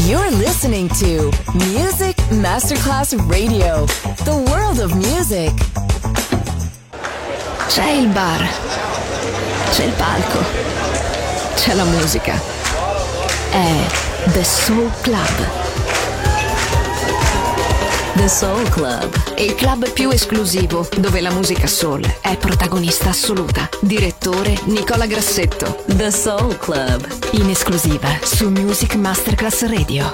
You're listening to Music Masterclass Radio, the world of music. C'è il bar, c'è il palco, c'è la musica. È The Soul Club. The Soul Club, il club più esclusivo dove la musica soul è protagonista assoluta. Direttore Nicola Grassetto. The Soul Club, In esclusiva su Music Masterclass Radio.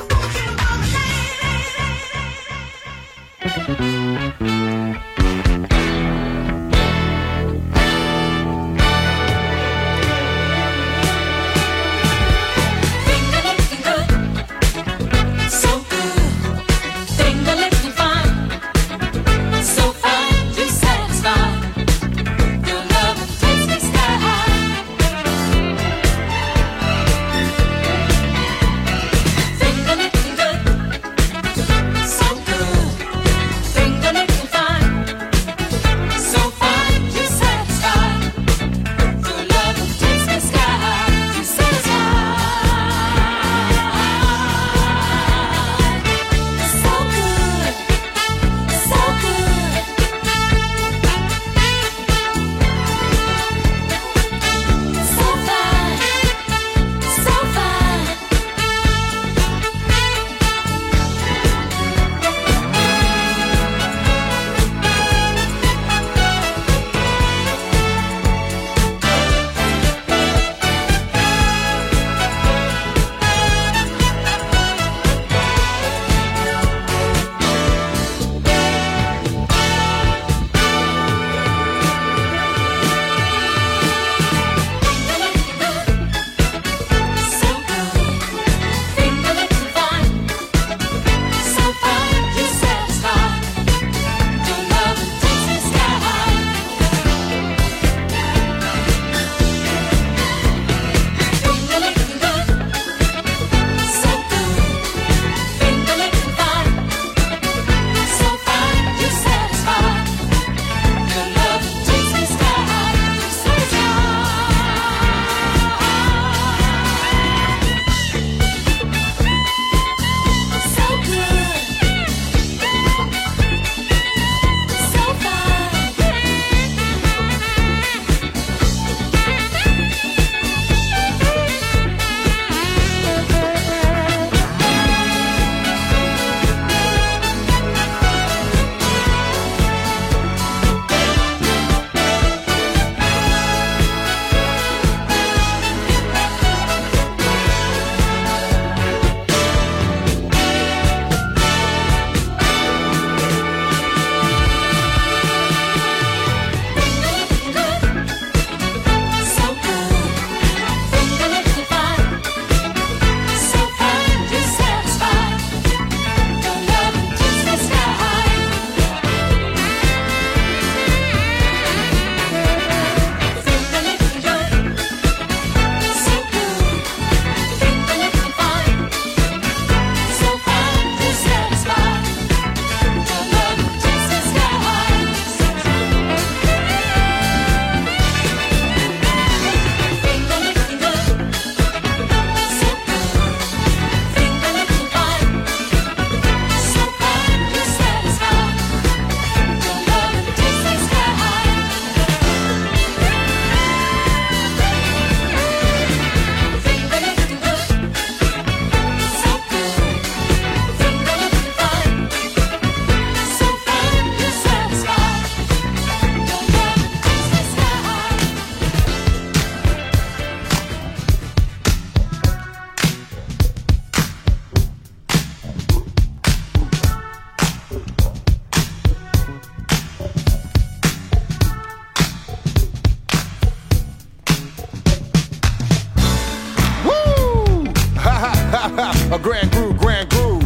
A grand groove.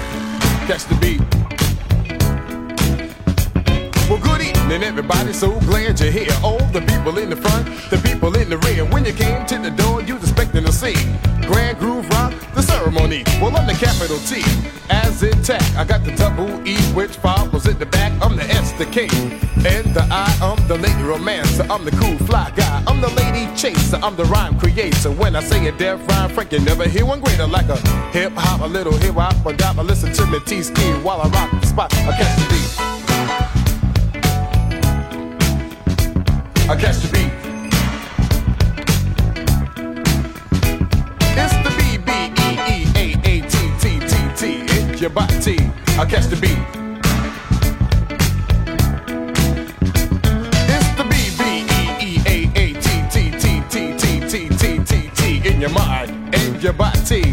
Catch the beat. Well, good evening, everybody. So glad you're here. All the people in the front, the people in the rear. When you came to the door, you was expecting to see Grand Groove Rock, the ceremony. Well, I'm the capital T. As is intact. I got the double E, which follows in the back. I'm the S, the K, and the I. I'm the lady romancer. I'm the cool fly guy. I'm the lady chaser. I'm the rhyme creator. When I say a deaf rhyme, Frank, you never hear one greater. Like a hip hop, a little hip hop, a dop. I listen to me T-Ski while I rock the spot. I catch the beat. I catch the beat. It's the B-B-E-E-A-A-T-T-T-T. It's your body. I catch the beat. It's the B-B-E-E-A-A-T-T-T-T-T-T-T in your mind and your body.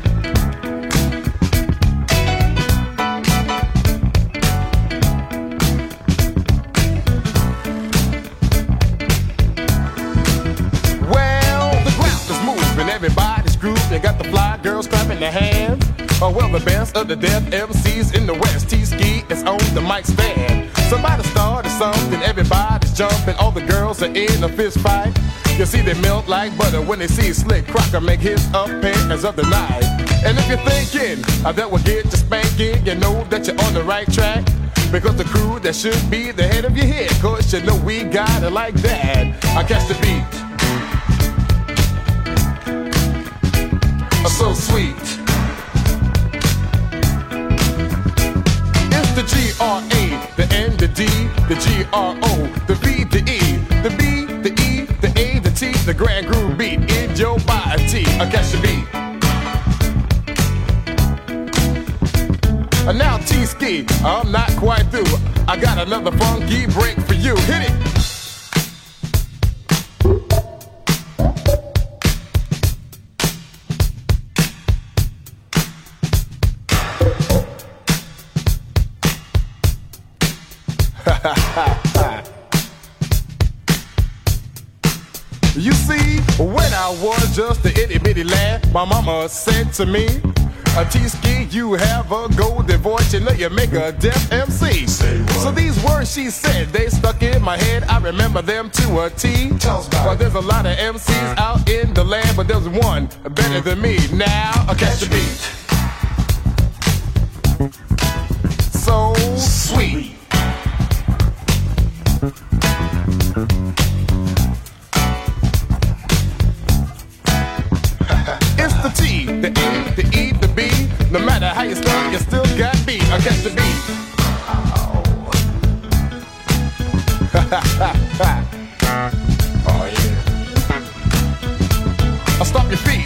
Everybody's grooving, they got the fly girls clapping their hands. Oh well, the best of the deaf MCs in the West. T-Ski is on the mic stand. Somebody started something, everybody's jumping. All the girls are in a fist fight. You see they melt like butter when they see Slick Crocker make his appearance of the night. And if you're thinking that will get you spanking, you know that you're on the right track. Because the crew that should be the head of your head, cause you know we got it like that. I catch the beat. So sweet. It's the G-R-A, the N, the D, the G-R-O, the V, the E, the B, the E, the A, the T, the grand groove beat in your body. I catch the beat. And now T-Ski, I'm not quite through. I got another funky break for you. Hit it. You see, when I was just a itty bitty lad, my mama said to me, T-Ski, you have a golden voice, you know you make a deaf MC. So these words she said, they stuck in my head, I remember them to a T. Well, there's a lot of MCs out in the land, but there's one better than me. Now, I catch the beat. So sweet. It's the T, the A, the E, the B. No matter how you start, you still got beat. I catch the beat. Oh yeah. I'll stop your feet.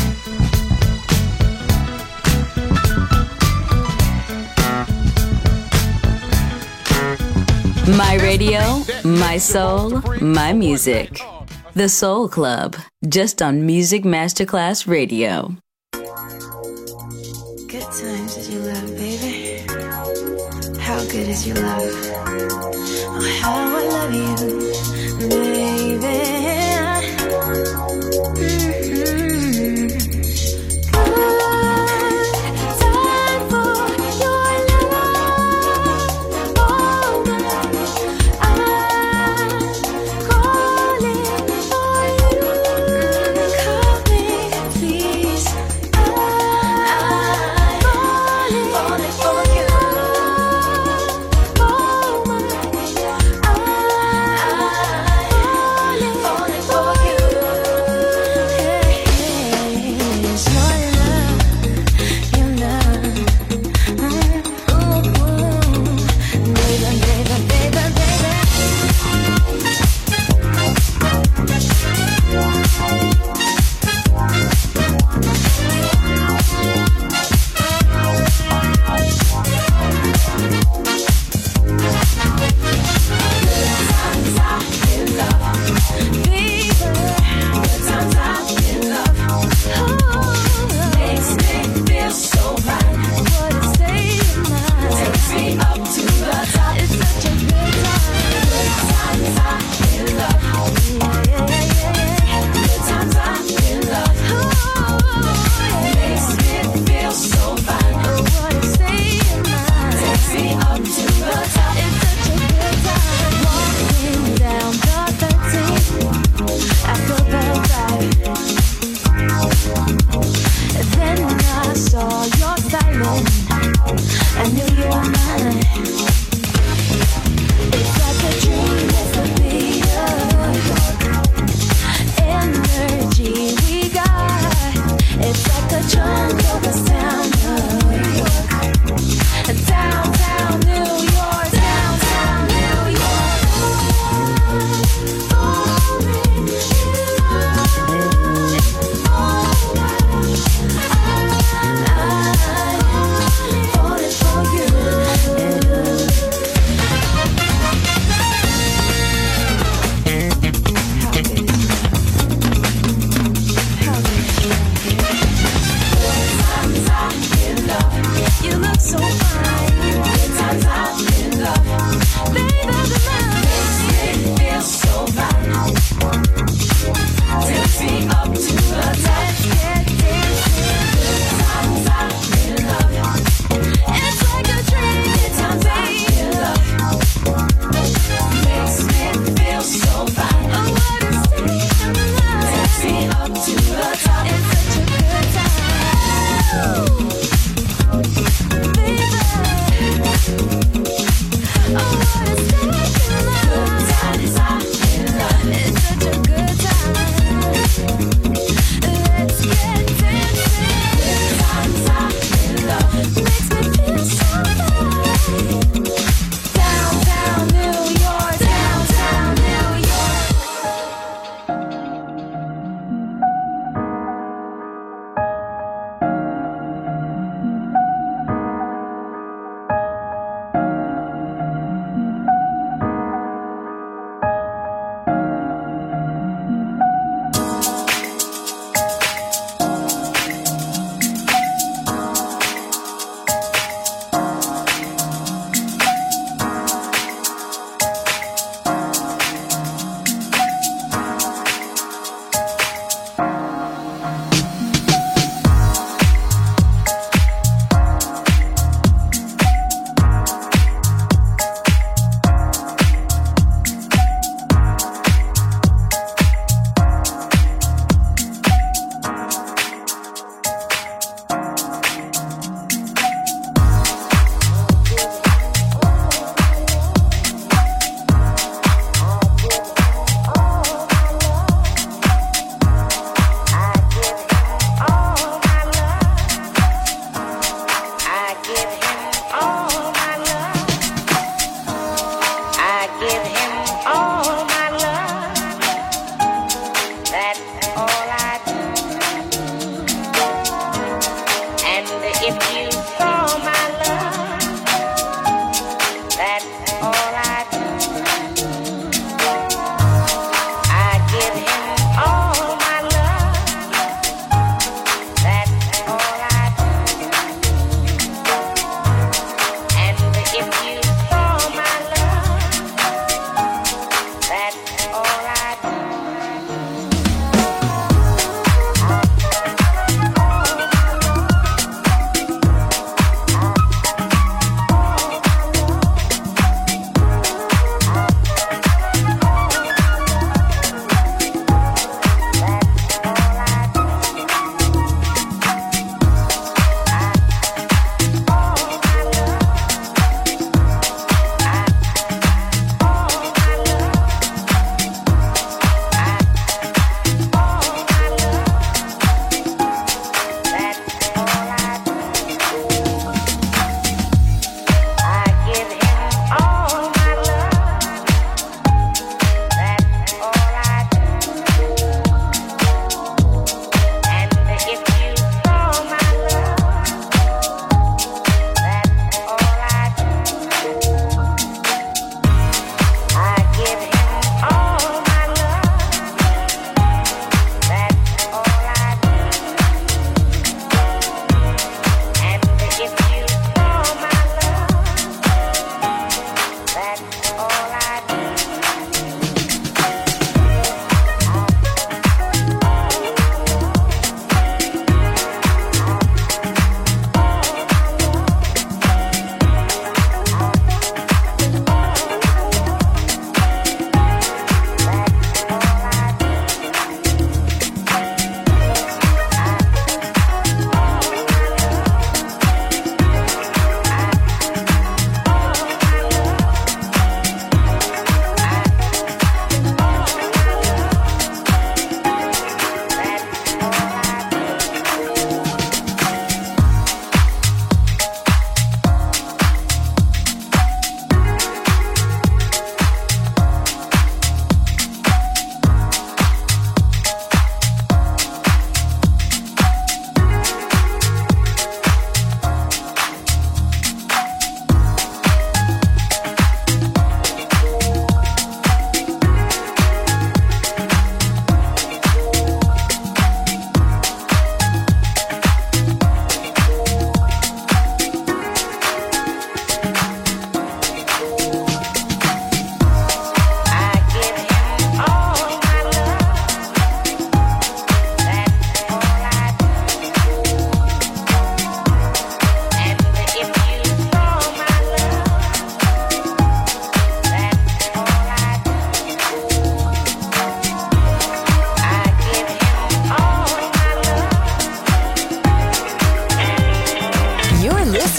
My radio, my soul, my music. The Soul Club, just on Music Masterclass Radio. Good times is your love, baby. How good is your love? Oh, how I love you, baby.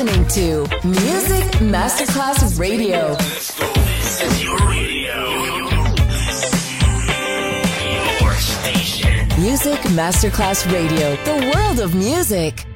listening to Music Masterclass Radio. This is your radio. Your station. Music Masterclass Radio. The world of music.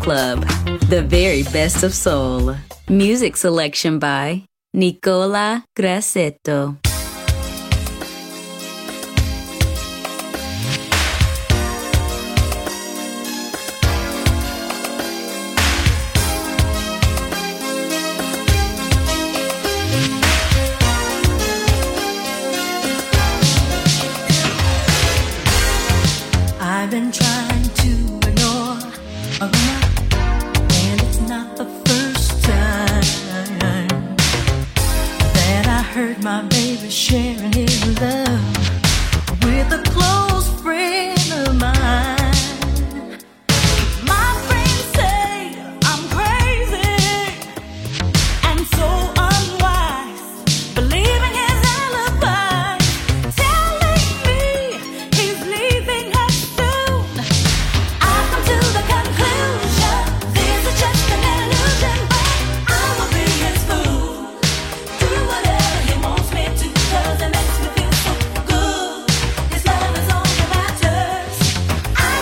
Club, the very best of soul. Music selection by Nicola Grassetto. I've been trying to ignore aroma, and it's not the first time that I heard my baby sharing his love with a close friend of mine. My friends say I'm crazy and so unwise, believing his alibi, telling me he's leaving her soon. I come to the conclusion this is just an illusion, but I will be his fool. Do whatever he wants me to, 'cause it makes me feel so good. His love is all that matters. I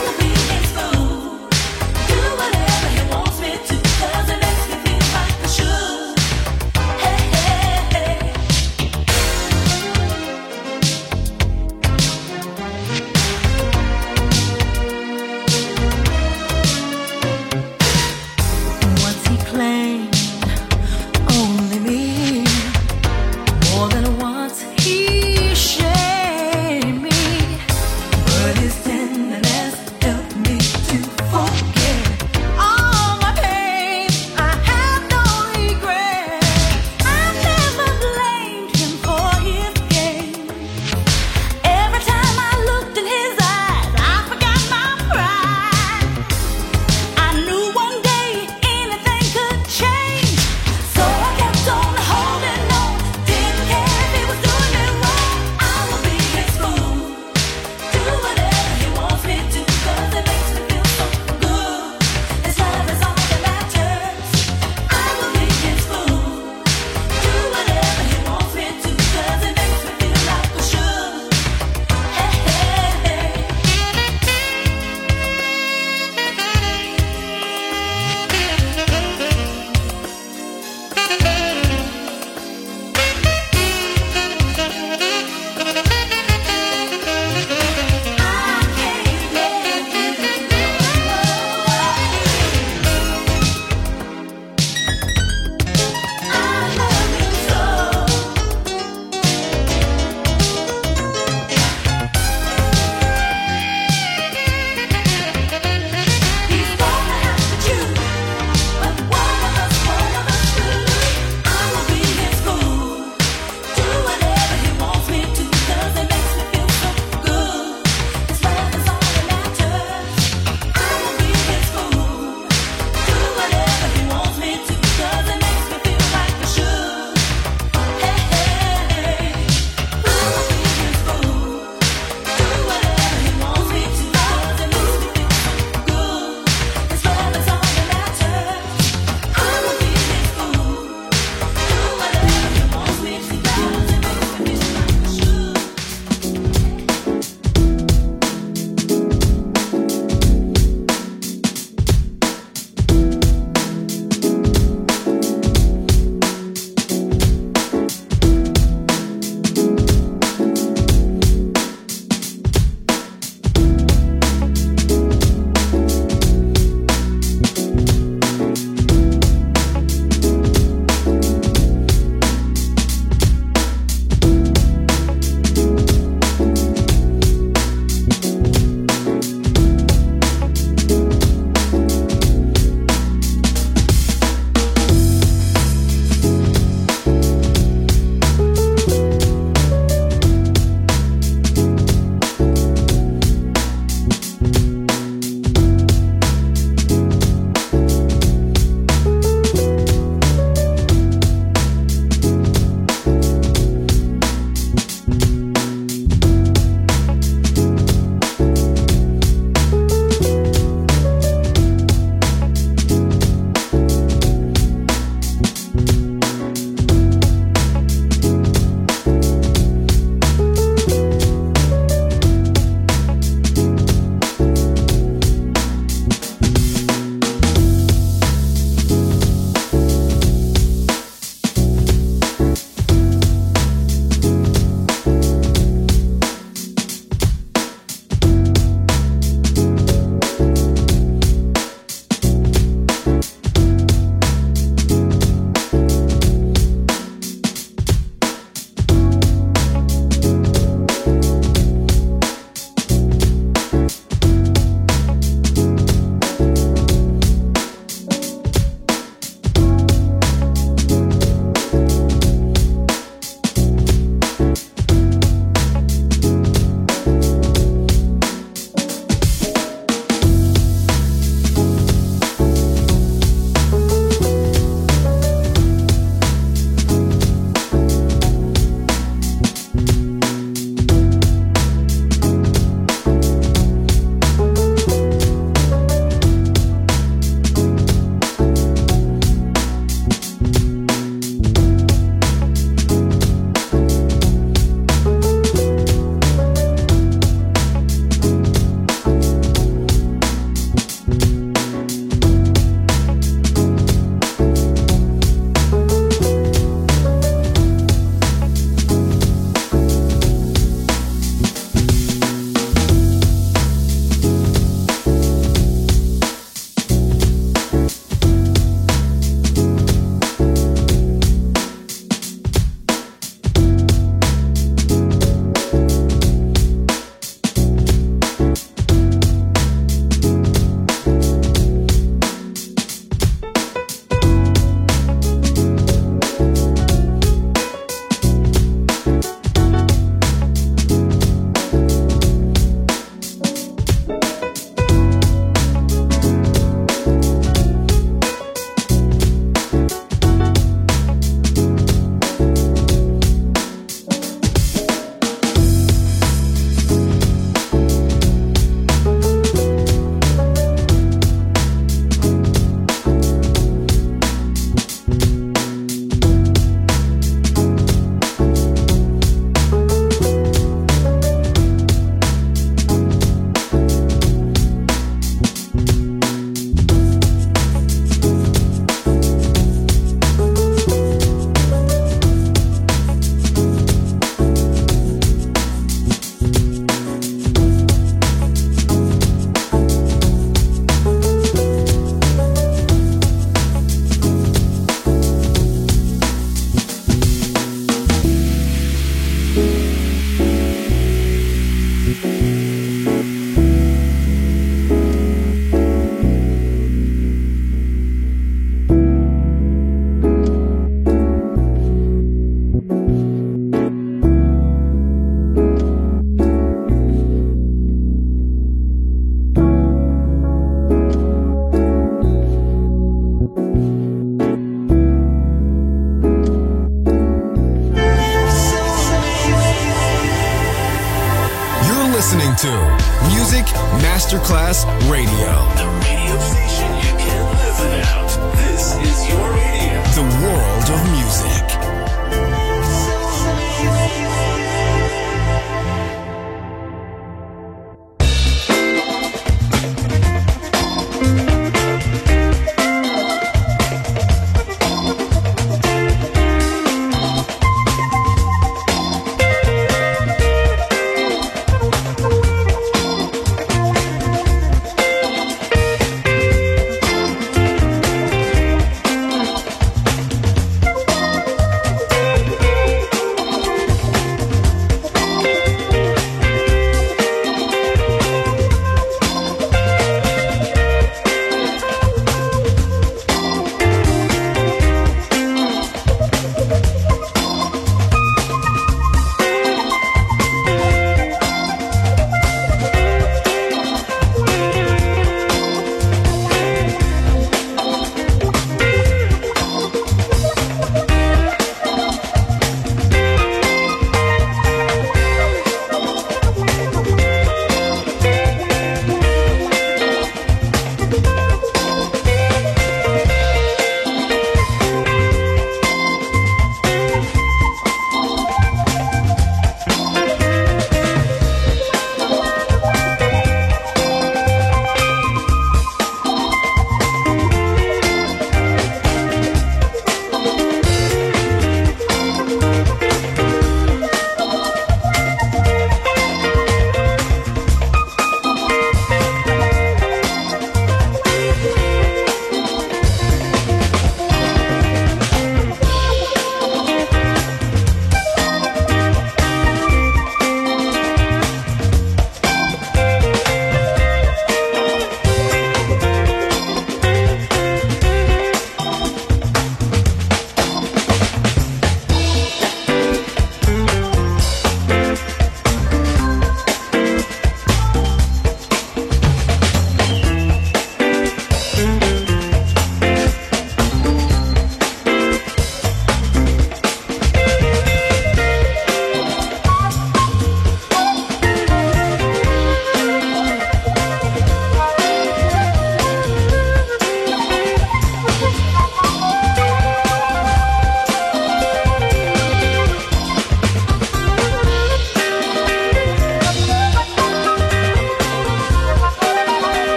to Music Masterclass Radio. The radio station you can't live without. This is your radio. The world of music.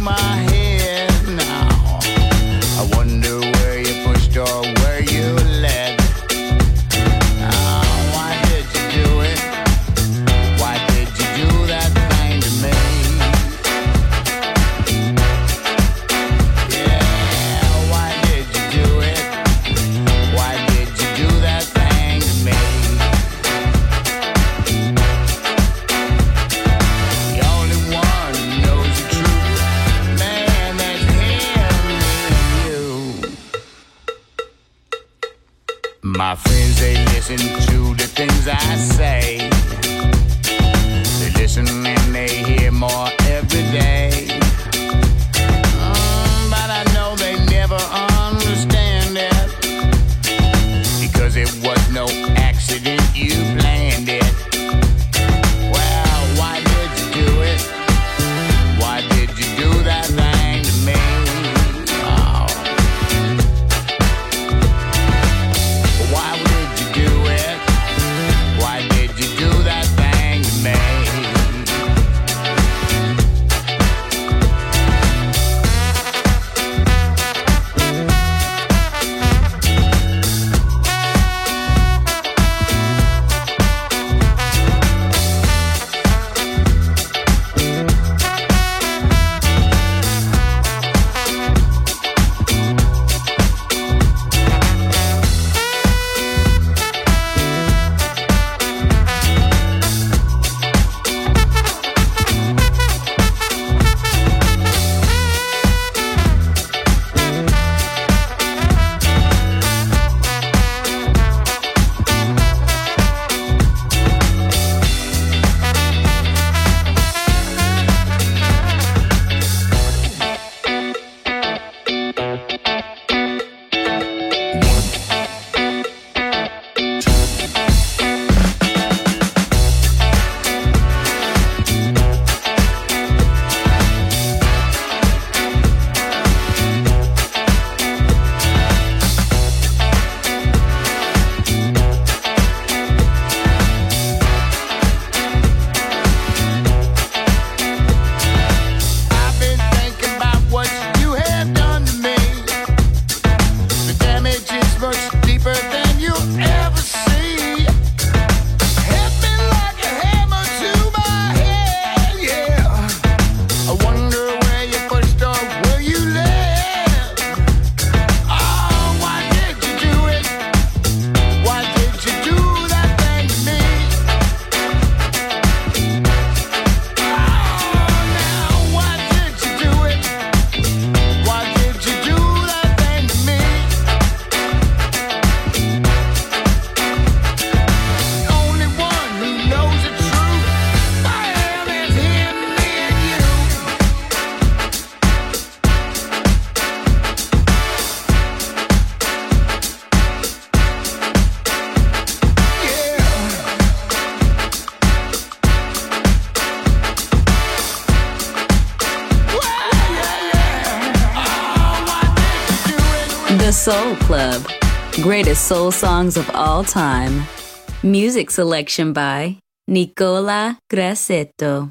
my head now. I wonder where you pushed or where you led. Why did you do it? Why did you do that thing to me? Yeah, why did you do it? Why did you do that thing to me? The only one who knows the truth, man, that's him, me and you. My friends, they listen to the things I say. They listen and they hear more every day. But I know they never understand it, because it was no accident, you planned it. Well, why did you do it? Why did you do that thing to me? Oh. Why did you do it? Why did you do that thing to me? I've been thinking about what you have done to me. The damage is much deeper than you ever see. Hit me like a hammer to my head, yeah. I wonder where you pushed or where you led. Oh, why did you do it? Why did you do that thing to me? Now, why did you do it? Why did you do that thing to me? The only one who knows the truth, man, is him, me and you. The Soul Club. Greatest soul songs of all time. Music selection by Nicola Grassetto.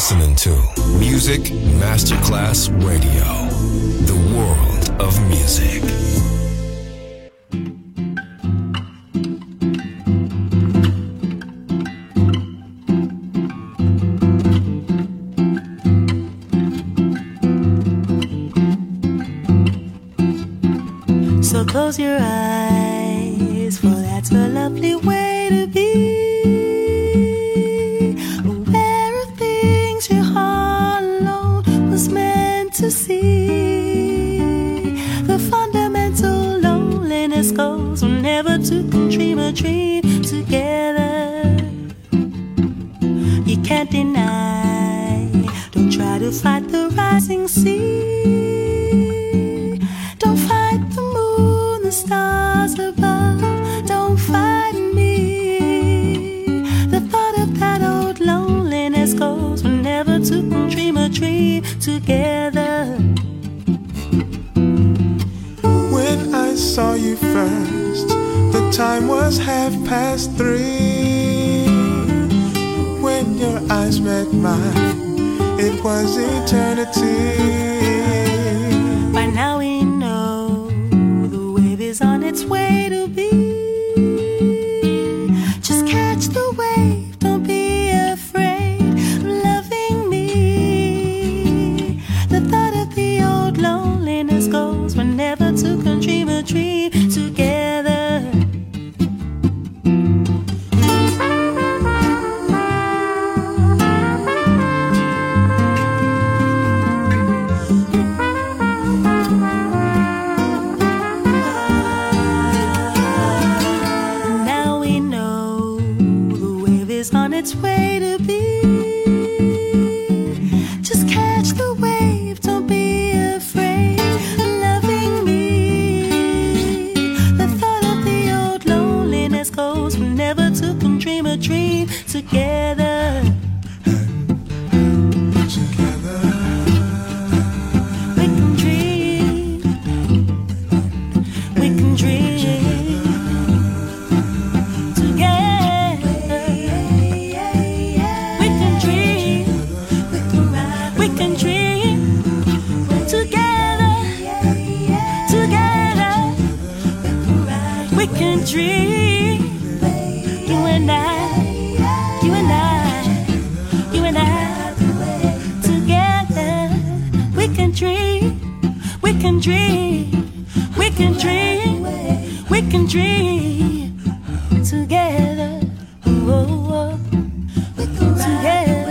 listening to Music Masterclass Radio, the world of music. So close your eyes, for that's a lovely way to be. Aware of things your heart alone was meant to see. The fundamental loneliness goes whenever two can dream a dream together. You can't deny, don't try to fight the rising sea. Don't fight the moon, the stars above, don't fight me. The thought of that old loneliness goes whenever two can dream a dream together. When I saw you first, the time was 3:30. When your eyes met mine, it was eternity. By now we know the wave is on its way to be. Just catch the wave, don't be afraid of loving me. The thought of the old loneliness goes whenever two can dream a dream together. Its way to be. Just catch the wave, don't be afraid of loving me. The thought of the old loneliness goes whenever two can dream a dream together. Together we can dream. We can dream. Dream, you and I, you and I, you and I, together. We can dream, we can dream, we can dream, we can dream together. Oh, together.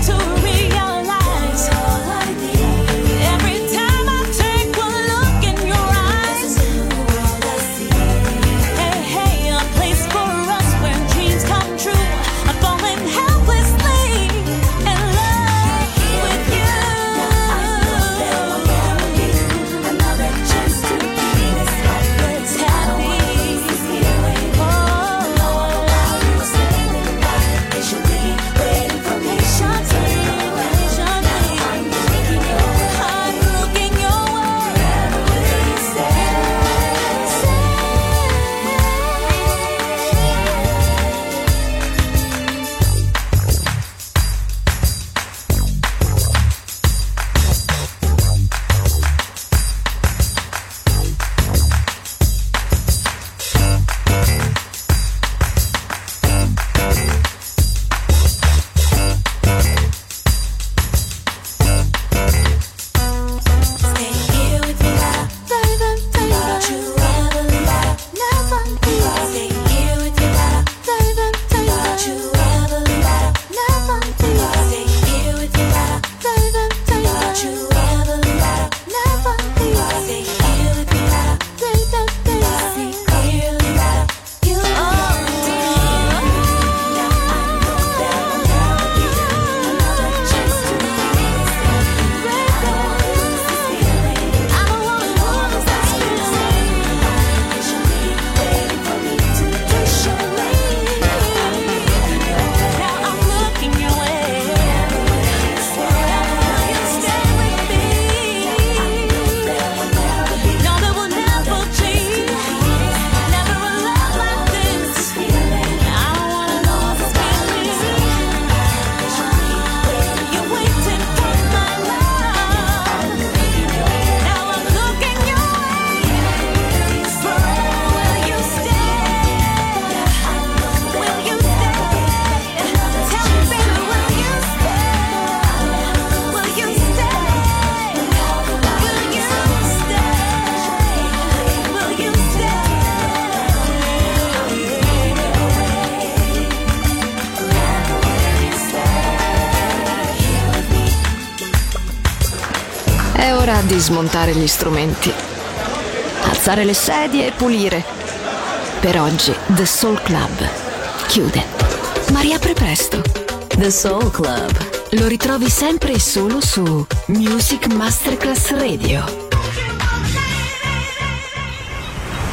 Every time I take one look in your È ora di smontare gli strumenti, alzare le sedie e pulire. Per oggi The Soul Club chiude, ma riapre presto. The Soul Club. Lo ritrovi sempre e solo su Music Masterclass Radio.